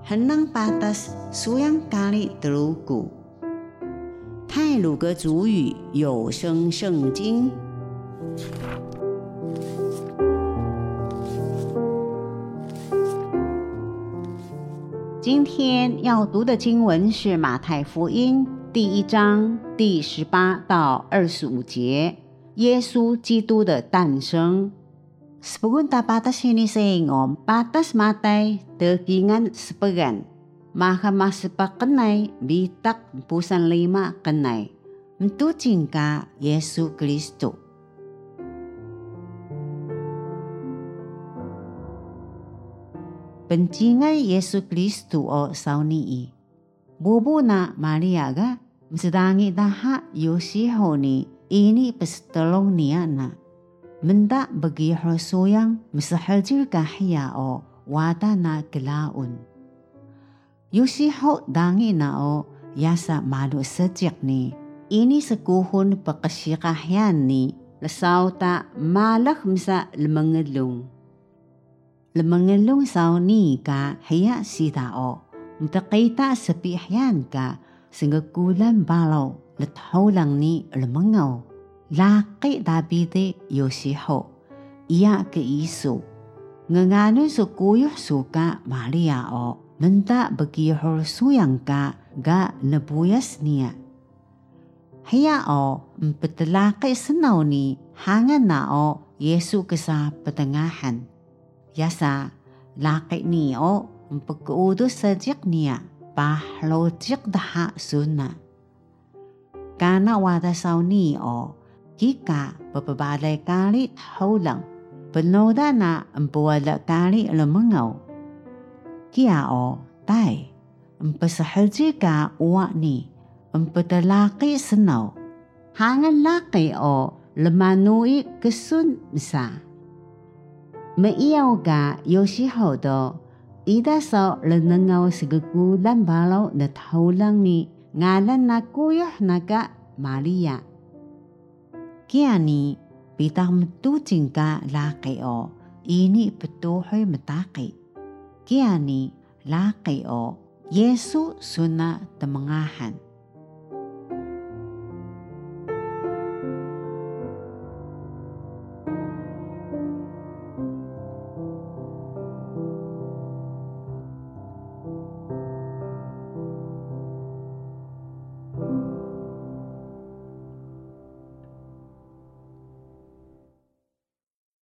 henang patas suyang kali telugu。太鲁阁主语有声圣经。今天要读的经文是马太福音第1章第18到25节，耶稣基督的诞生。Sepunta patas ini seingom patas matai tegingan sepegan mahkamah sepakenai bitak pusan 5 kenai untuk cingka Yesus Kristus。Pencingan Yesus Kristus o sauni bubu na Maria ga msedangi daha Yosiho ni ini pestelong niya na menda bagi hosuyang mesahajil kahya o wada na kelaun Yosiho dangi na o yasa malu sejak ni ini sekuhun pekasyikahyan ni lesaw ta malak msa lemengelung sauni ka hiya sidao mtakita sapihyan ka singkulan balaw letholang ni lemengaw laki Davide Yosiho iya ke isu ngangano sukuyuh suka Maria o menta begihor suyang ka ga nebuyas niya hiya o mpetelaki senaw ni hangan na o Yesu kesa petengahan yasa laki ni o mpekuudus sajik niya pahlojik daha suna kana wada saw ni o kika papabalay kali haulang penoda na empuwala kali lemengaw kia o tay empasahalji ka uwa ni empetalaki senaw hangan laki o lemanui kesun misa meiyaw ka Yosiho do ida saw lenengaw sigugulan balaw na haulang ni ngalan na kuyuh naga Maria kia ni pitang metucing ka laki o ini petuhoy mataki kia ni laki o Yesu suna temengahan